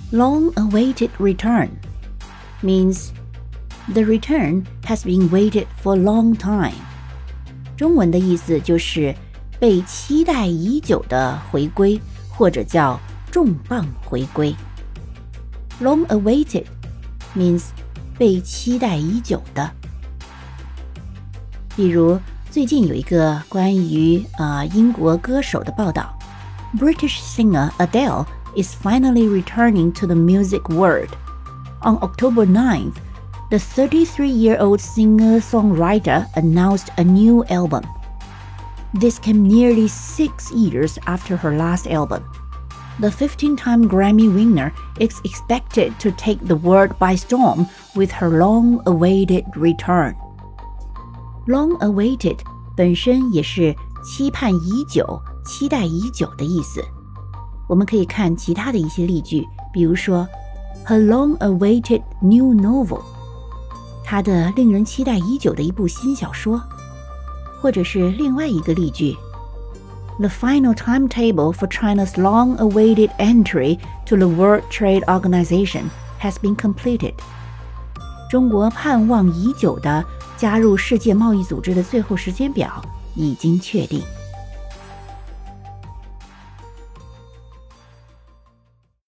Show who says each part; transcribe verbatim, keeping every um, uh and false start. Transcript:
Speaker 1: Long-awaited return means the return has been waited for a long time. 中文的意思就是被期待已久的回归，或者叫重磅回归。Long-awaited means 被期待已久的。比如最近有一个关于呃英国歌手的报道 ，British singer Adele is finally returning to the music world. On October ninth, the thirty-three-year-old singer-songwriter announced a new album. This came nearly six years after her last album. The fifteen-time Grammy winner is expected to take the world by storm with her long-awaited return. Long-awaited 本身也是期盼已久、期待已久的意思。我们可以看其他的一些例句，比如说 Her long-awaited new novel， 她的令人期待已久的一部新小说，或者是另外一个例句 The final timetable for China's long-awaited entry to the World Trade Organization has been completed. 中国盼望已久的加入世界贸易组织的最后时间表已经确定。